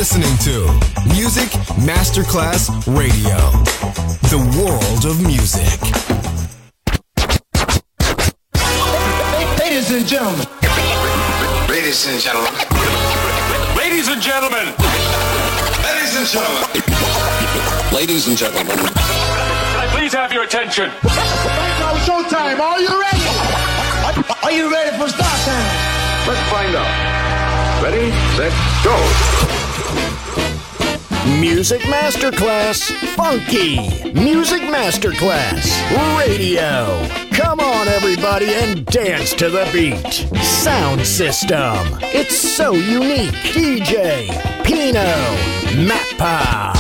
listening to Music Masterclass Radio, the world of music. Ladies and gentlemen. Ladies and gentlemen. Ladies and gentlemen. Ladies and gentlemen. Ladies and gentlemen. Can I please have your attention? Now showtime. Are you ready? Are you ready for start time? Let's find out. Ready, set, go. Music Masterclass Funky. Music Masterclass Radio. Come on, everybody, and dance to the beat. Sound system. It's so unique. DJ Pino Mappa.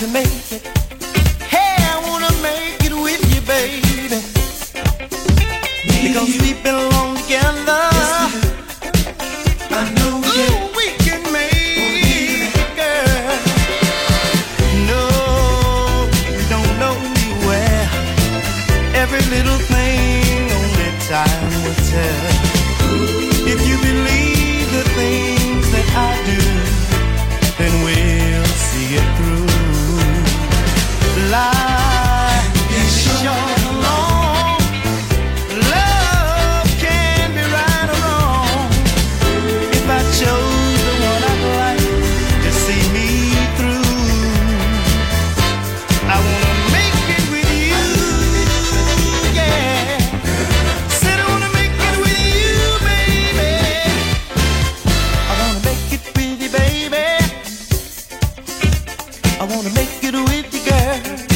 to make it. Hey, I wanna make it with you, baby. Because we belong together. I know we can make it, girl. No, we don't know where. Every little thing only time will tell. If you believe the things that I do, then we'll see it through. Life is short and long. Love can be right or wrong. If I chose the one I'd like to see me through, I wanna make it with you, yeah. Said I wanna make it with you, baby. I wanna make it with you, baby. I wanna make it with you, girl.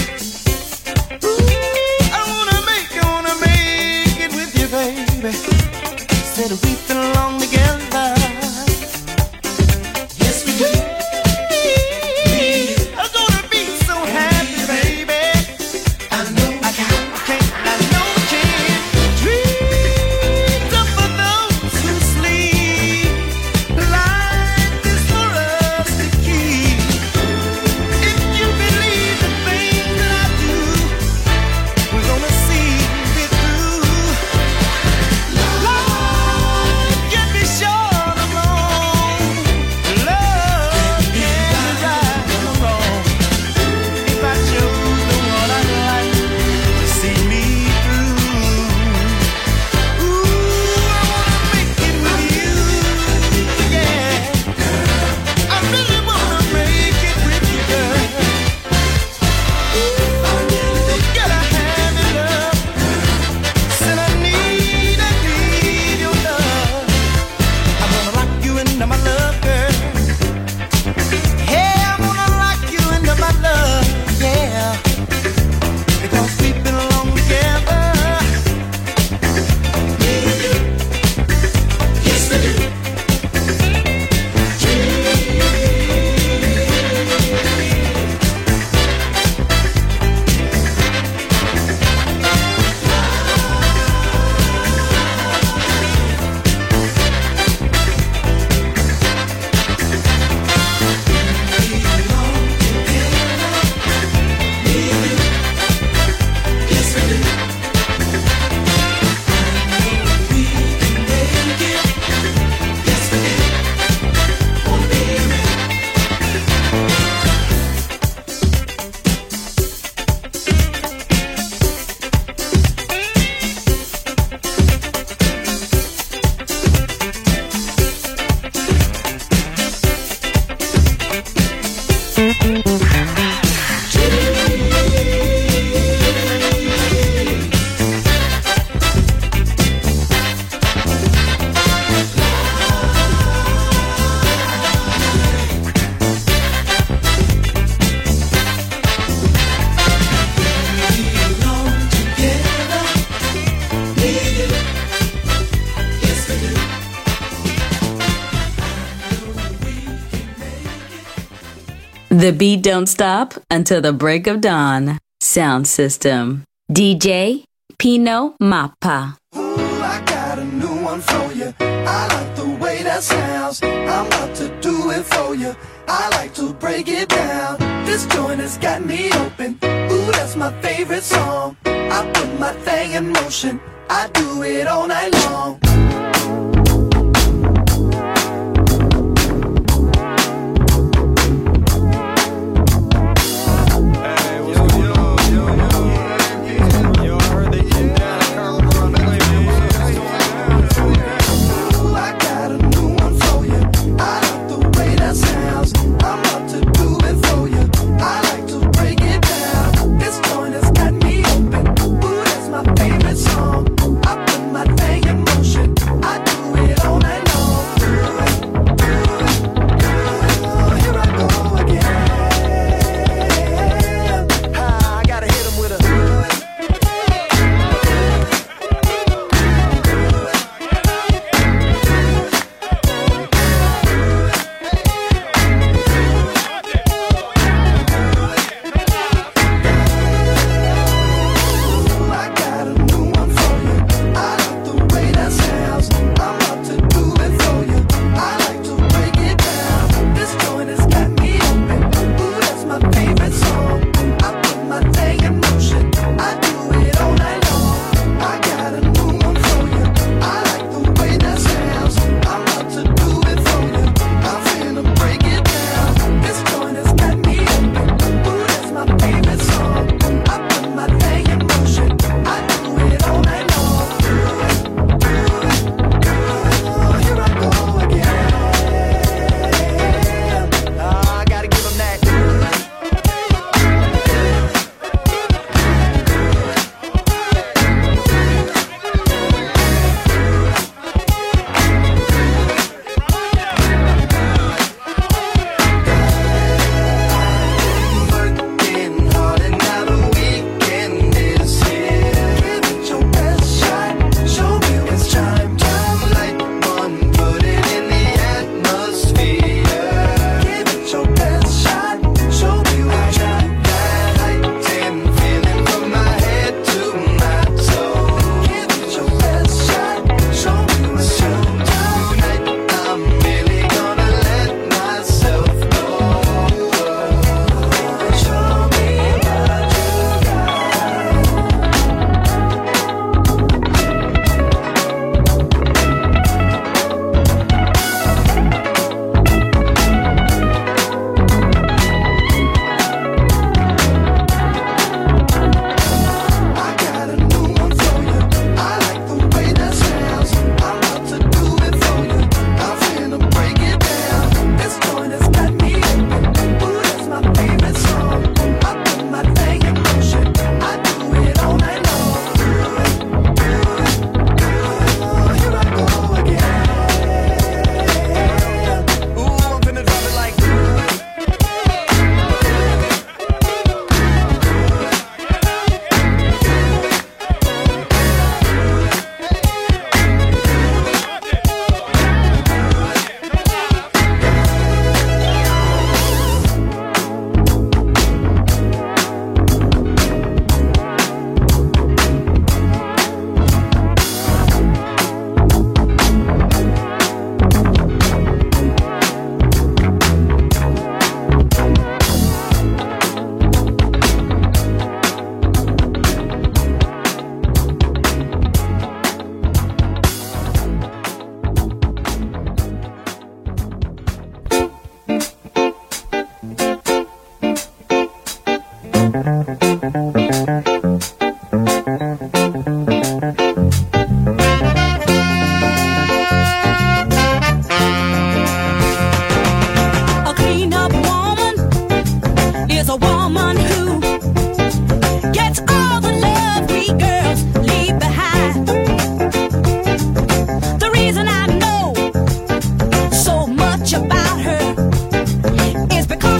Ooh, I wanna make it with you, baby. Said we belong together. Yes, we do. I'm gonna be so happy, baby. I know I can't dreams are for those who sleep. Life is for us to keep. If you believe the things that I do, we're gonna see it through. Life can be short or long. Love can be right or wrong. If I chose the one I'd like to see me through, ooh, I wanna make it with you, yeah. I really wanna make it with you, girl. Ooh, gotta have your love. Said I need your love. I wanna lock you into my love, girl. Hey, I wanna lock you into my love, yeah. Because we belong together. Yes, we do. The beat don't stop until the break of dawn. Sound system. DJ Pino Mappa. Ooh, I got a new one for you. I like the way that sounds. I'm about to do it for you. I like to break it down. This joint has got me open. Ooh, that's my favorite song. I put my thing in motion. I do it all night long. Favorite song, I put my thing in motion.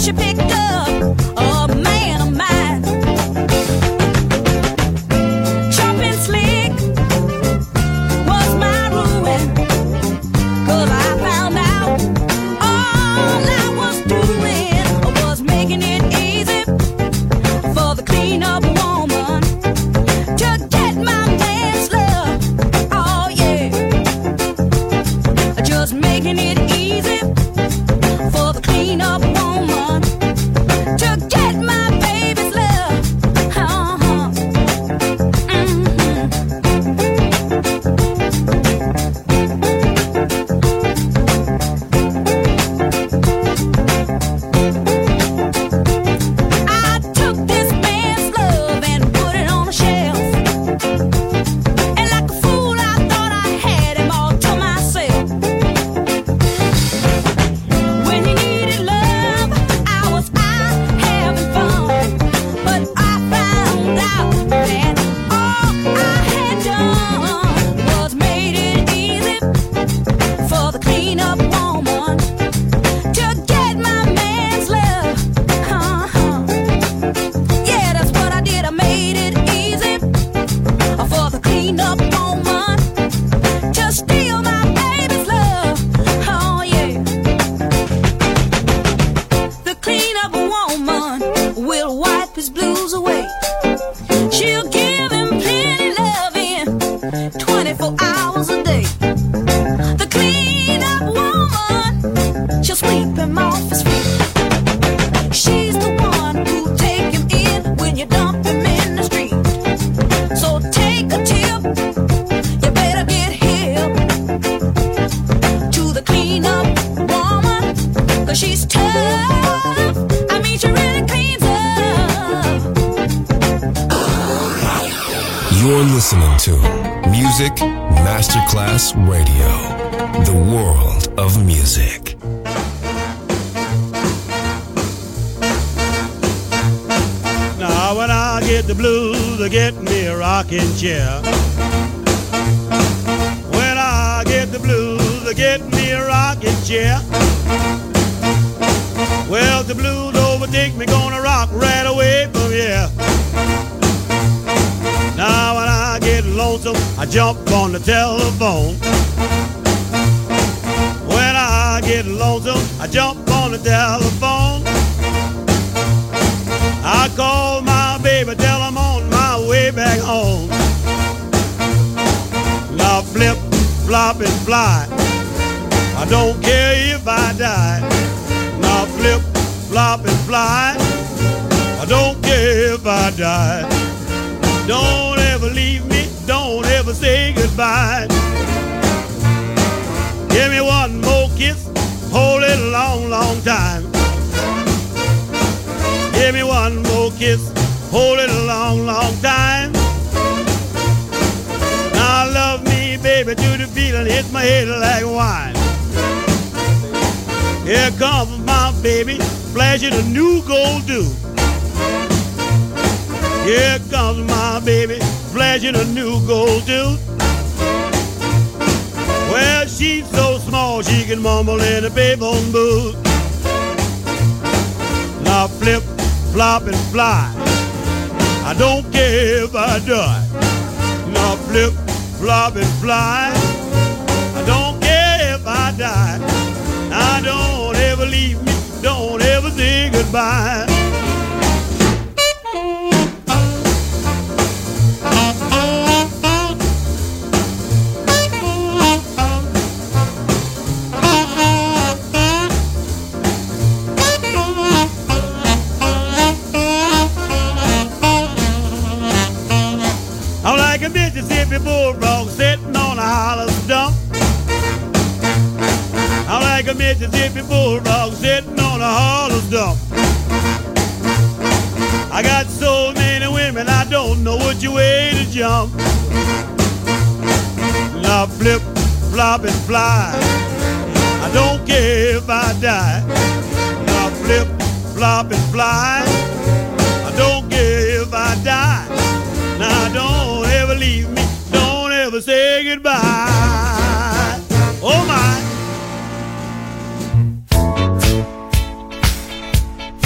she picked up a man of mine. Chopping slick was my ruin, 'cause I found out all I was doing was making it easy for the clean-up woman to get my man's love. Oh yeah, just making it easy for the clean-up woman to get my baby's love. I took this man's love and put it on a shelf, and like a fool I thought I had him all to myself. When he needed love, I was out having fun, but I found out that all I had done was made it easy for the clean-up woman to get my man's love. Yeah, that's what I did. I made it easy for the clean-up woman to steal my baby's love. Oh yeah. The clean-up woman will wipe his blues away. She'll give him plenty loving 24 hours a day. The clean-up woman, she'll sweep him off his feet. She's the one who'll take him in when you dump him in the street. So take a tip, you better get hip to the clean-up woman, 'cause she's tough. I mean, she really cleans up. You're listening to Music Masterclass Radio, the world of music. Now when I get the blues, I get me a rocking chair. When I get the blues, I get me a rocking chair. Well, the blues overtake me, gonna rock right away from here. Now when I get lonesome, I jump on the telephone. When I get lonesome, I jump on the telephone. I call my baby, tell I'm on my way back home. Now flip, flop, and fly. I don't care if I die. Now flip, flop, and fly. I don't care if I die. Don't ever leave me, don't ever say goodbye. Give me one more kiss, hold it a long, long time. Give me one more kiss, hold it a long, long time. Now love me, baby, to the feeling hits my head like wine. Here comes my baby, flashing a new gold dew. Here comes my baby, flashing a new gold tooth. Well, she's so small she can mumble in a payphone booth. Now flip, flop, and fly. I don't care if I die. Now flip, flop, and fly. I don't care if I die. Now don't ever leave me, don't ever say goodbye. I'm like a Mississippi bulldog sitting on a hollow stump. I'm like a Mississippi bulldog sitting on a hollow stump. I got so many women, I don't know which way to jump. Now flip, flop, and fly. I don't care if I die. Now flip, flop, and fly. I don't care if I die. Now don't ever leave me, don't ever say goodbye. Oh my.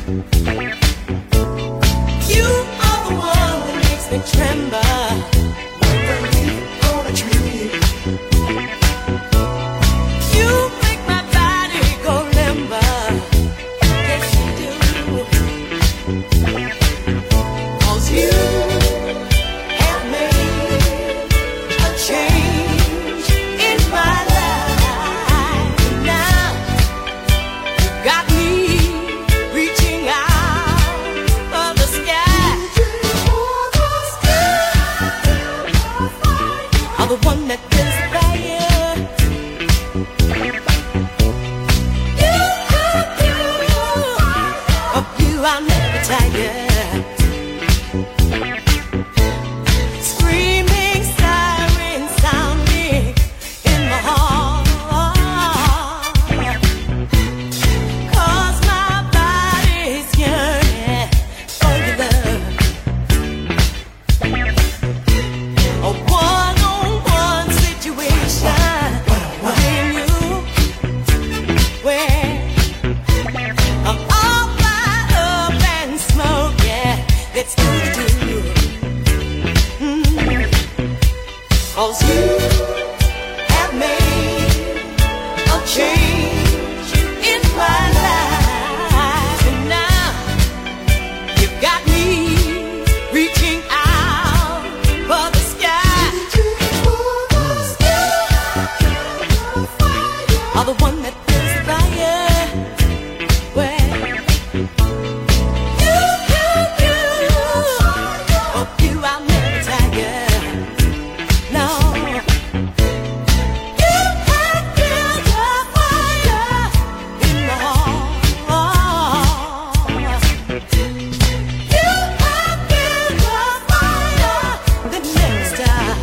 You are the one that makes me tremble. Like the leaf on a tree. You make my body go limber. Yes, you do. 'Cause you have made a change in my life. Now you got me reaching out for the sky. I'm the one that feels the fire. Of you I'll never tire. Screaming siren sounding in my heart. 'Cause my body's yearning for your love. A one-on-one situation with you, where I'm all fired up and smoking. Let's do the do. 'Cause you have made a change in my life. And now you've got me reaching out for the sky. I'm the one that feels the fire. Where you, oh, you, I'll never tire. No, you can feel the fire in my heart. You can feel the fire that never stops.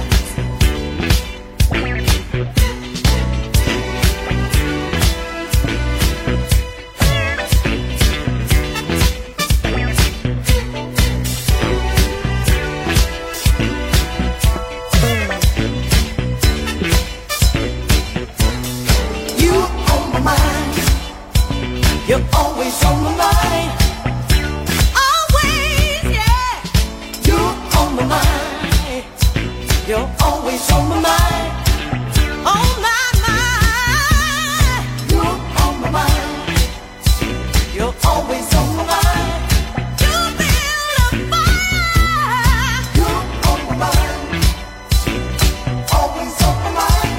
You on my mind. You're always on my mind. Always, yeah. You're on my mind. You're always on my mind. On my mind. You're on my mind. You're always on my mind. You feel the fire. You're on my mind. Always on my mind.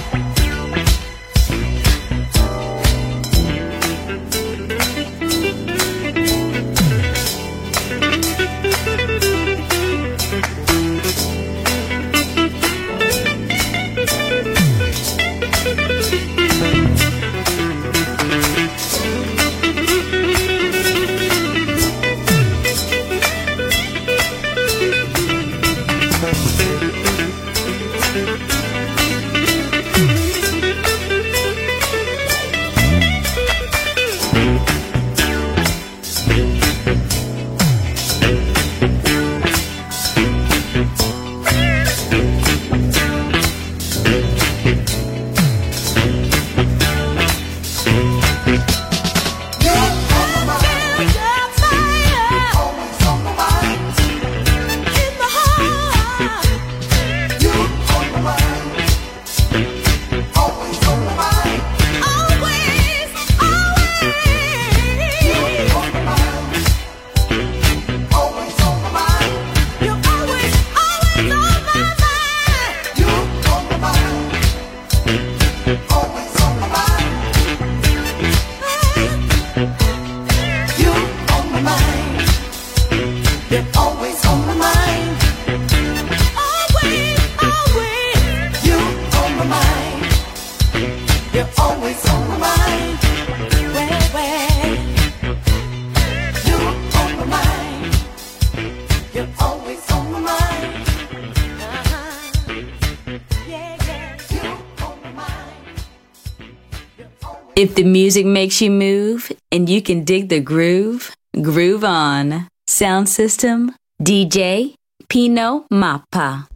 If the music makes you move and you can dig the groove, groove on. Sound system, DJ Pino Mappa.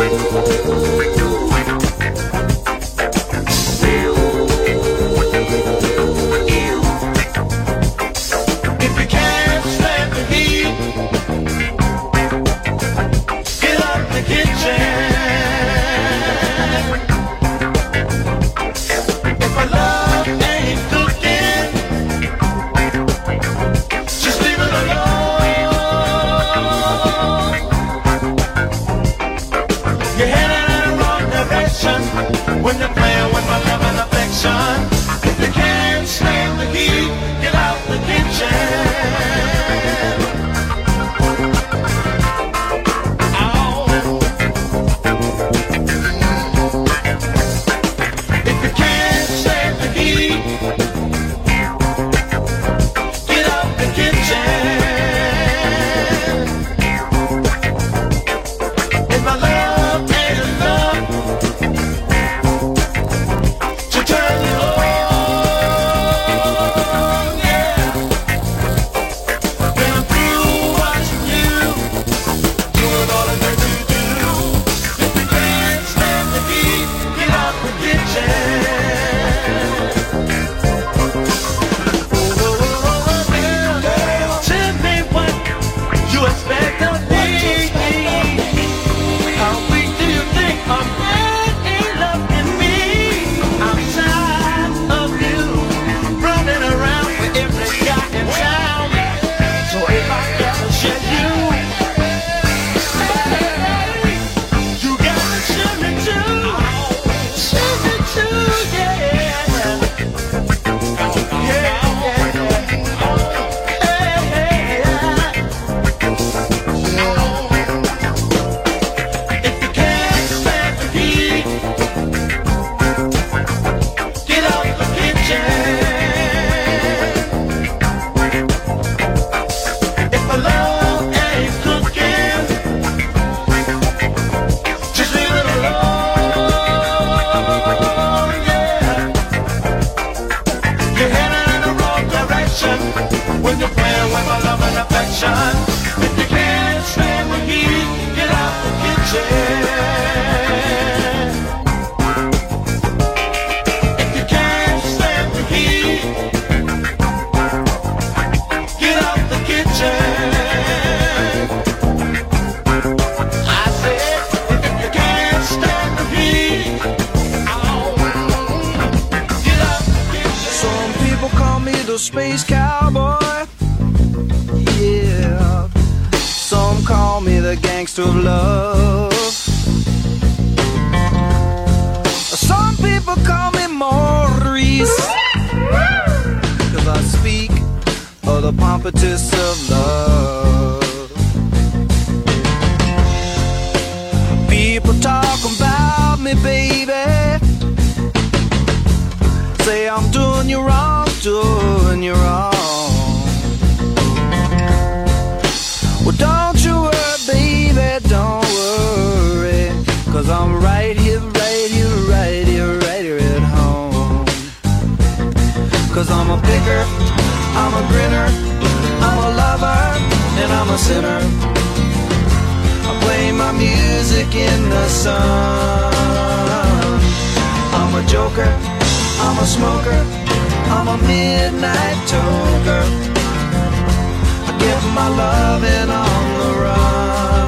Space cowboy, yeah. Some call me the gangster of love. Some people call me Maurice, 'cause I speak of the pompatus of love. People talk about me, baby, say I'm doing you wrong, doing you wrong. Well, don't you worry, baby, don't worry, 'cause I'm right here, right here, right here, right here at home. 'Cause I'm a picker, I'm a grinner, I'm a lover, and I'm a sinner. I play my music in the sun. I'm a joker, I'm a smoker, I'm a midnight toker. I give my loving on the run.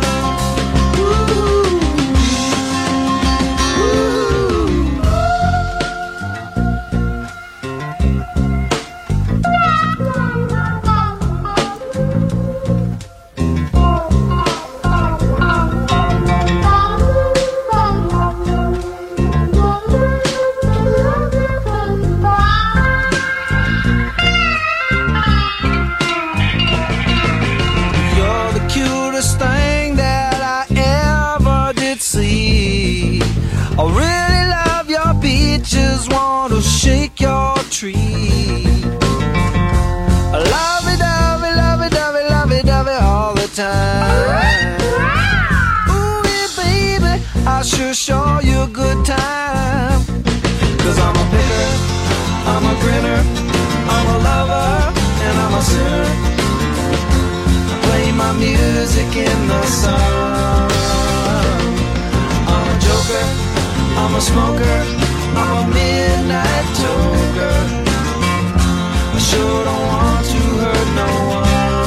I really love your beaches, want to shake your tree. I lovey-dovey, lovey-dovey, lovey-dovey all the time. Ooh, yeah, baby, I sure show you a good time. 'Cause I'm a picker, I'm a grinner, I'm a lover, and I'm a sinner. I play my music in the sun. I'm a smoker, I'm a midnight toker. I sure don't want to hurt no one.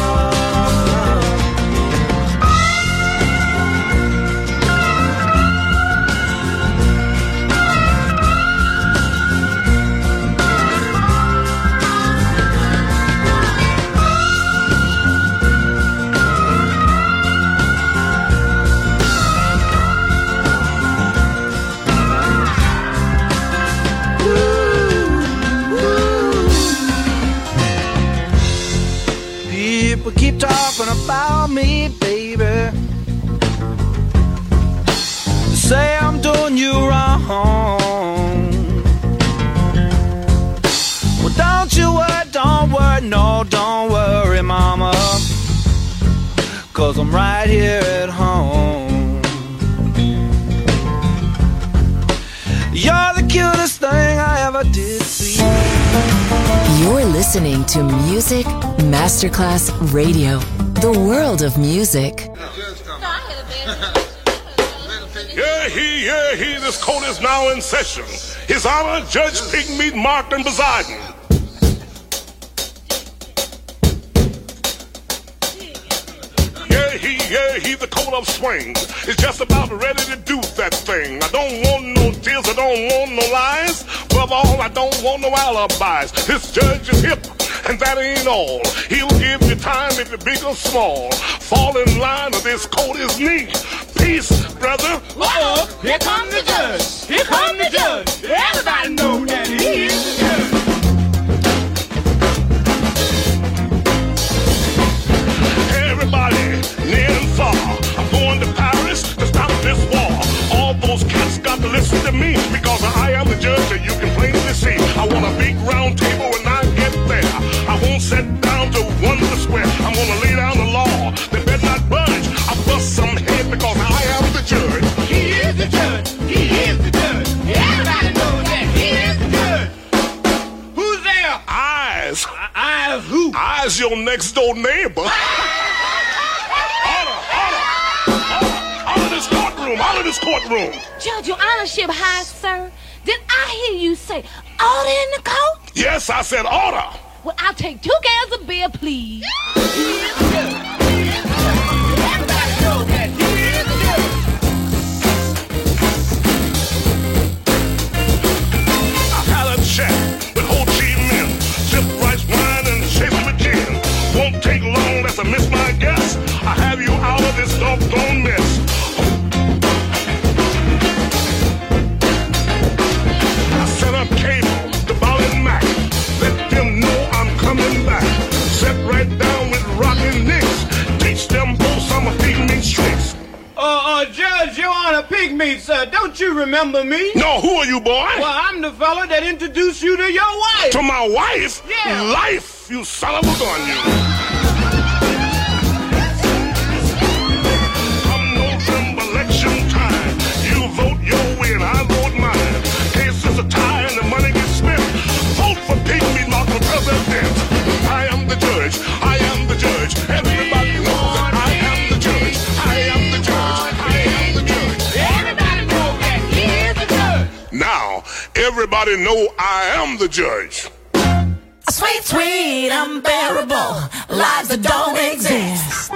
People keep talking about me, baby. Say I'm doing you wrong. Well, don't you worry, don't worry, no, don't worry, mama, 'cause I'm right here at home. You're the cutest thing I ever did see. You're listening to Music Masterclass Radio, the world of music. Yeah, he, this court is now in session. His Honor, Judge Pigmeat Martin Poseidon. Yeah, he, the coat of swing is just about ready to do that thing. I don't want no tears, I don't want no lies. Above all, I don't want no alibis. This judge is hip, and that ain't all. He'll give you time if you're big or small. Fall in line or this coat is neat. Peace, brother. Uh-oh, here comes the judge. Here comes the judge. Everybody know that he is the judge. Everybody, near and far, I'm going to Paris to stop this war. All those cats got to listen to me, because I am the judge and you can plainly see. I want a big round table when I get there. I won't sit down to wonder square. I'm gonna lay down the law. They better not budge. I bust some head because I am the judge. He is the judge. He is the judge. Everybody knows that he is the judge. Who's there? Eyes. Eyes who? Eyes your next door neighbor. Out of this courtroom. Judge, your honorship high, sir. Did I hear you say order in the court? Yes, I said order. Well, I'll take 2 cans of beer, please. He is the judge. He is the judge. Everybody knows that he is the judge. I had a chat with Ho Chi Minh. Sip rice wine and chase with gin. Won't take long, that's a miss my guess. I have you out of this doggone mess. Cable, the ball and Mac. Let them know I'm coming back. Sit right down with rockin' Nicks. Teach them both some of Pigmeat tricks. Judge, Your Honor, Pigmeat, sir. Don't you remember me? No, who are you, boy? Well, I'm the fella that introduced you to your wife. To my wife? Yeah. Life, you son of a gun, you. Come November election time. You vote your way and I vote mine. Case is a tie and the money gets spent. Vote for Pigmeat Martin for president. I am the judge. I am the judge. Everybody knows that I am the judge. I am the judge. I am the judge. Everybody knows that he is the judge. Now, everybody know I am the judge. Sweet, sweet, unbearable lives that don't exist.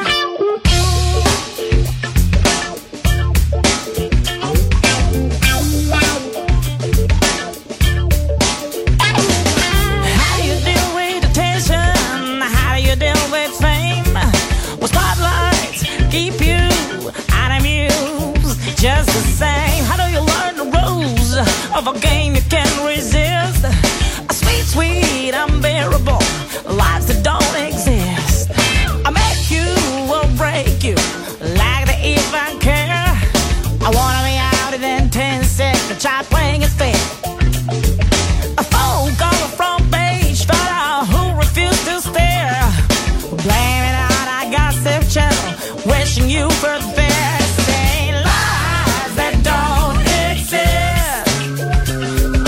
Just the same, how do you learn the rules of a game you can't resist? Sweet, sweet, unbearable lives that don't exist. I make you or break you like the even care. I wanna be out in 10 seconds, try playing it fair. A phone call a front page fella who refused to stare. Blaming on our gossip channel, wishing you for the best. Saying lies that don't exist.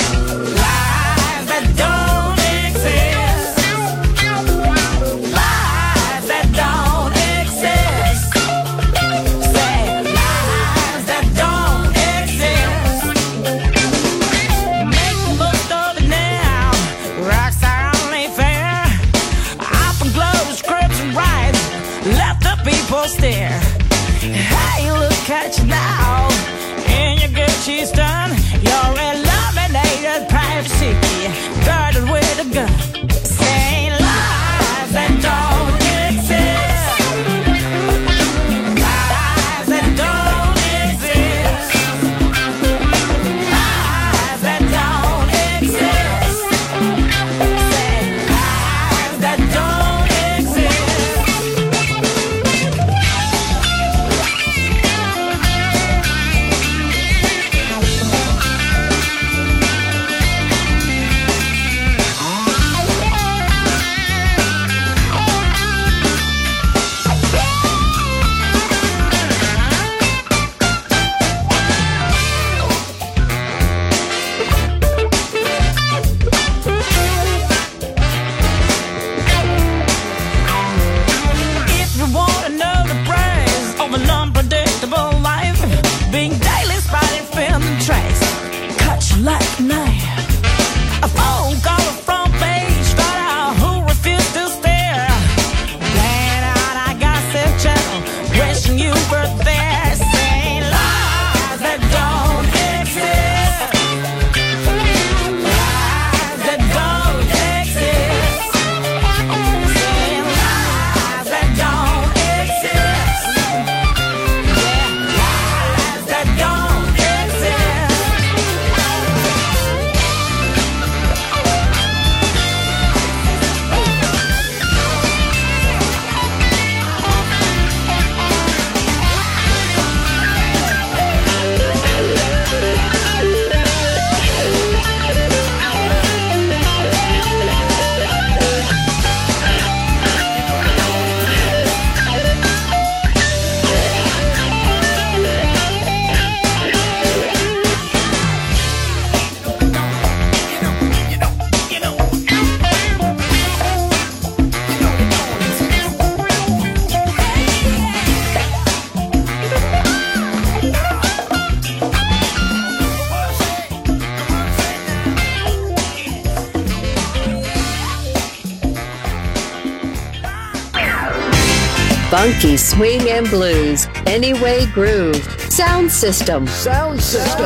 Funky swing and blues, Anyway Groove, Sound System. Sound System.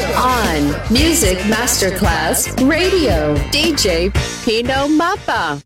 On Music Masterclass Radio, DJ Pino Mappa.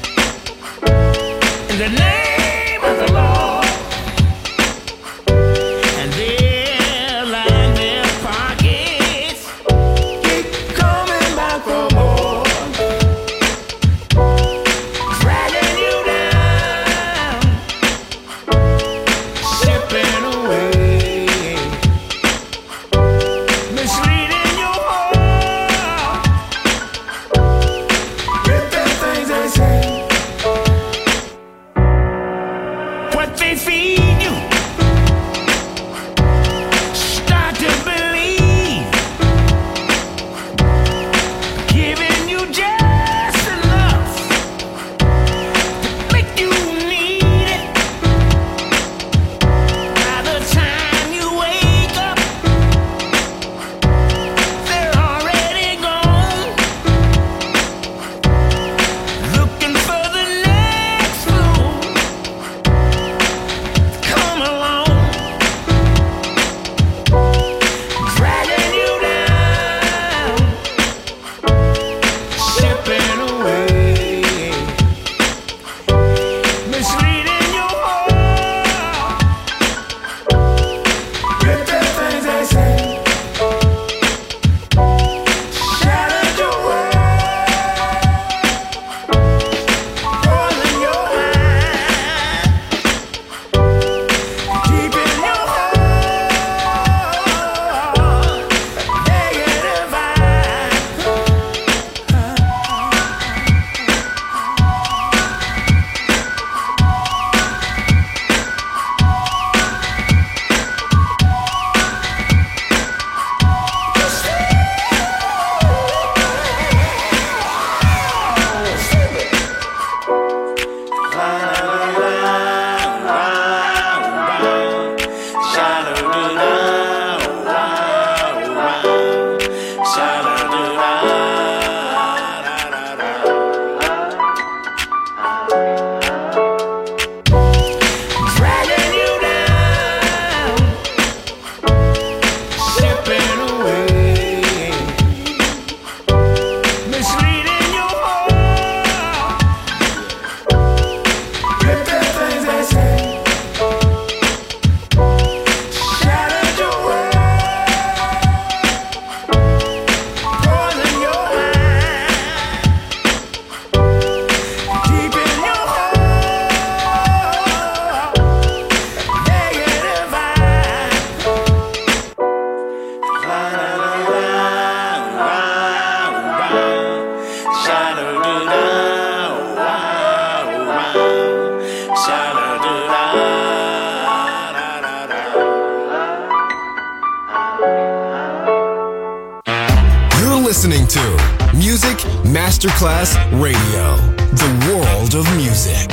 the name of the Lord. listening to Music Masterclass Radio, the world of music.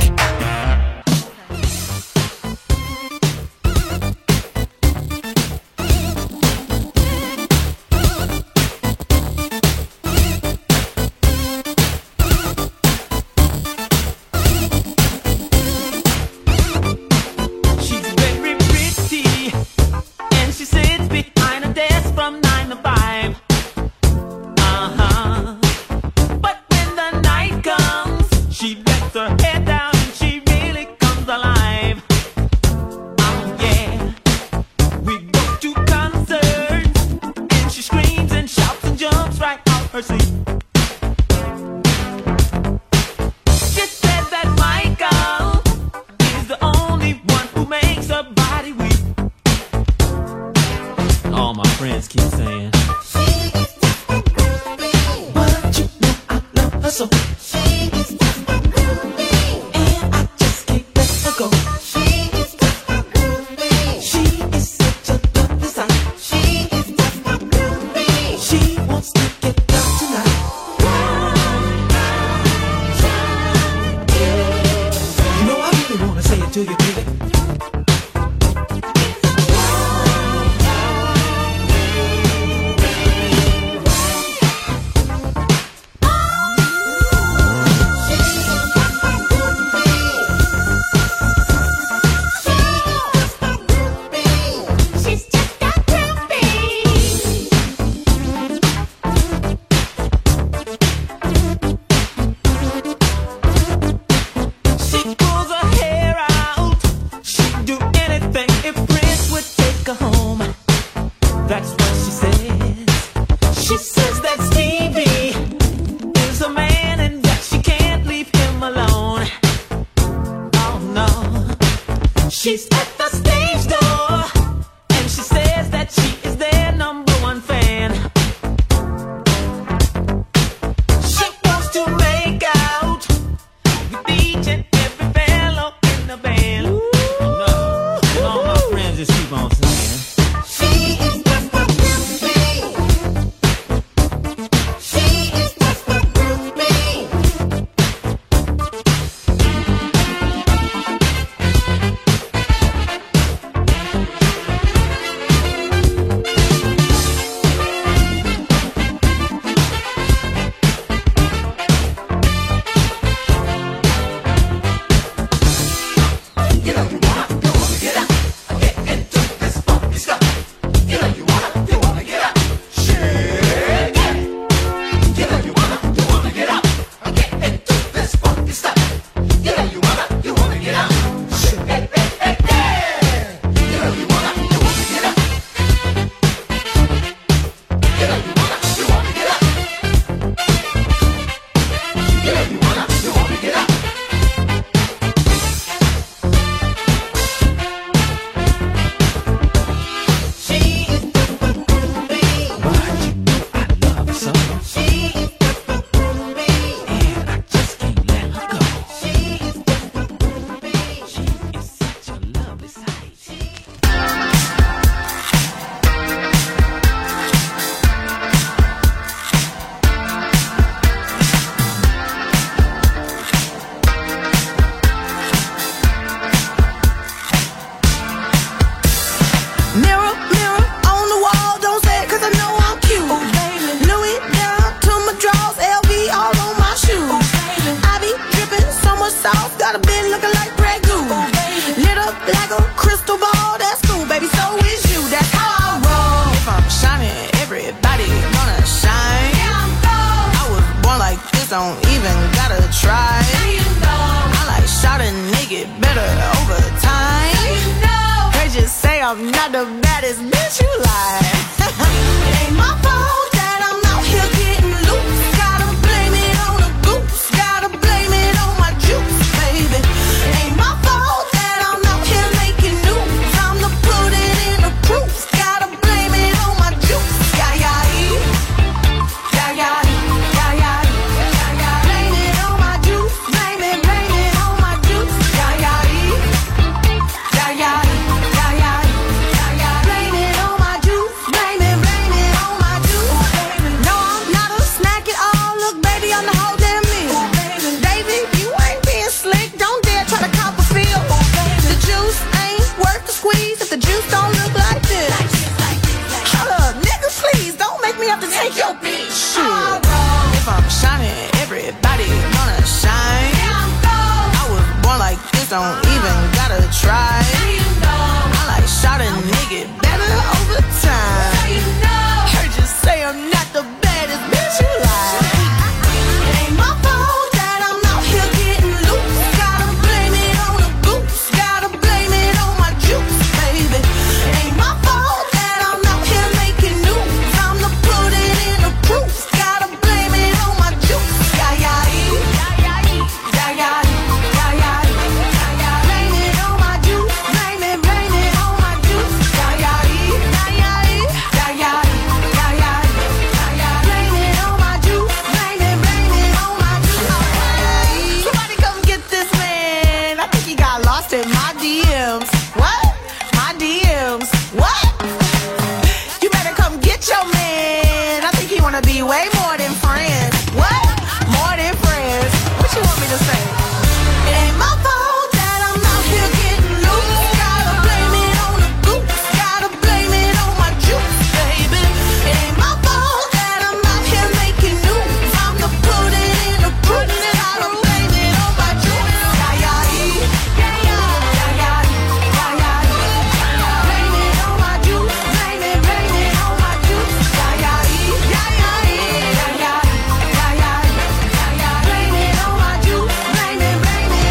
Take your bitch. Shit. If I'm shining, everybody gonna shine. I was born like this, don't even gotta try. I like shot a nigga better over time. Heard you say I'm not the baddest bitch you like. It ain't my fault that I'm out here getting loose. Gotta blame it on the goose. Gotta blame it on my juice, baby. It ain't my fault that I'm out here making news. I'm the put it in the proof. Gotta blame it on my juice. Yeah, yeah, yeah, yeah, yeah, yeah, yeah, yeah. Blame it on my juice. Blame it on my juice. Yeah, yeah, yeah, yeah, yeah, yeah, yeah, yeah. Blame it on my juice. Blame it on my juice. Somebody come get this man. I think he got lost in my DMs. What? My DMs. What? You better come get your man. I think he wanna be way more than friends. What? More than friends. What you want me to say? It ain't my fault that I'm out here getting loose. Gotta blame it on the goose. Gotta blame it on my juice, baby. It ain't my fault that I'm out here making news. I'm the put it in the proof. Gotta blame it on my juice. Yeah, yeah, yeah, yeah, yeah, yeah, yeah, yeah. Blame it on my juice. Blame it on my juice. Yeah, yeah, yeah, yeah, yeah, yeah, yeah, yeah. Blame it on my juice. Blame it,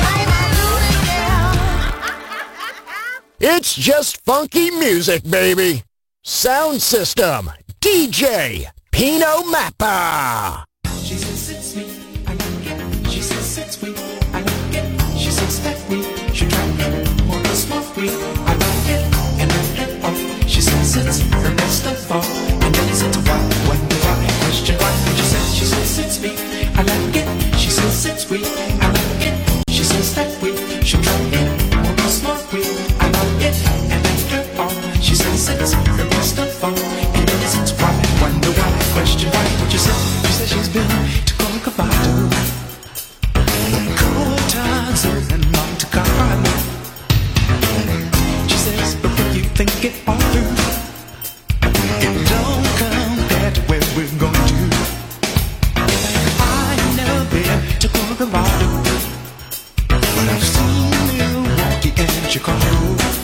yeah. It's just funky music, baby. Sound System, DJ Pino Mappa. She says it's sweet, I like it. She says it's sweet, I like it. She says that we should try it. More to smoke weed, I like it. And then she says it's her best of all. And then it's why, wonder why, question why. She says it's sweet, I like it. She says it's sweet, I like it. She says that we should try it. More to smoke weed, I like it. And then she says it's her best of all. And then it's why, wonder why, question why. What you say? She says she's been to Corcovado, Cortazzo and Monte Carlo. She says, but when you think it all through, it don't compare to where we're going to. I've never been to Corcovado, but I've seen Milwaukee and Chicago.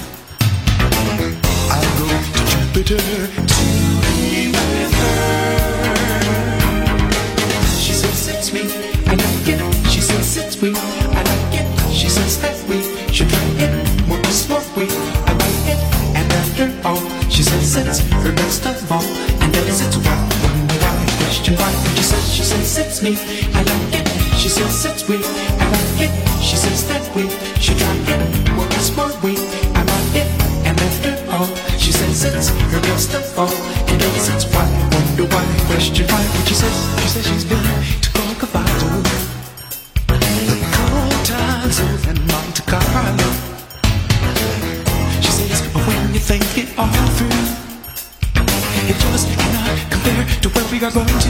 I'll go to Jupiter to be with her. She says it's me, I like it. She says it's we, I like it. She says that we should try it. More to smoke weed, I like it. And after all, she says it's her best of all. And then it's why, wonder why, question why. She says it's me, I like it. She says it's we, I like it. She says that we should try it. More to smoke weed, I like it. And after all, she says it's her best of all. And then it's why, wonder why, question why. She says she's been to Corcovado, the Cortazzo and Monte Carlo. She says, when you think it all through, it just cannot compare to where we are going to.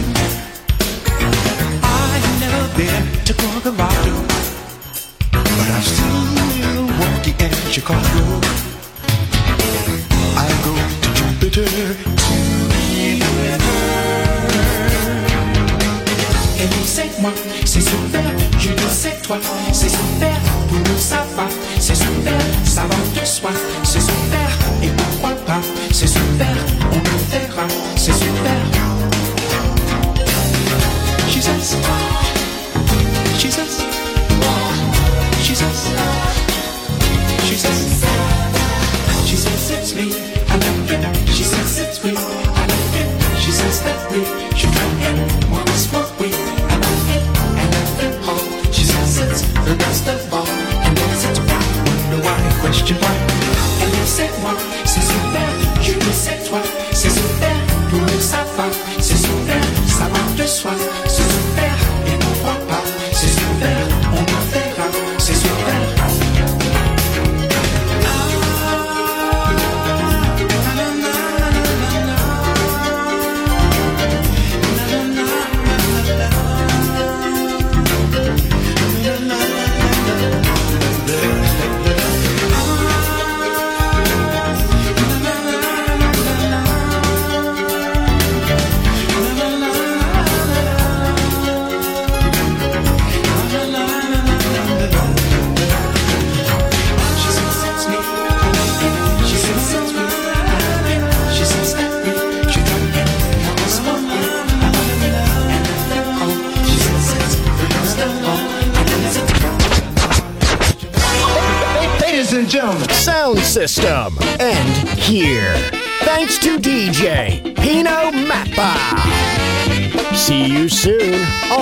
I've never been to Corcovado, but I've seen Milwaukee and Chicago. I'll go to Jupiter to be with her. Et lui c'est moi, c'est super, je le sais toi, c'est super, pour nous ça va, c'est super, ça va de soi, c'est super, et pourquoi pas, c'est super, on le verra, c'est super. She says, she says, she says, she says, she says it's me, I like it. She says it's we, I like it. She says that we should try it. More to smoke weed, I like it. And after all, she says it's the best of all. And then it's why, wonder why, question why. Elle le sait moi, c'est super. Je le sais toi, c'est super. Pour nous ça va, c'est super. Ça va de soi, c'est super. Et pourquoi pas, c'est super. On le verra, c'est super. Sound system. And here. Thanks to DJ Pino Mappa. See you soon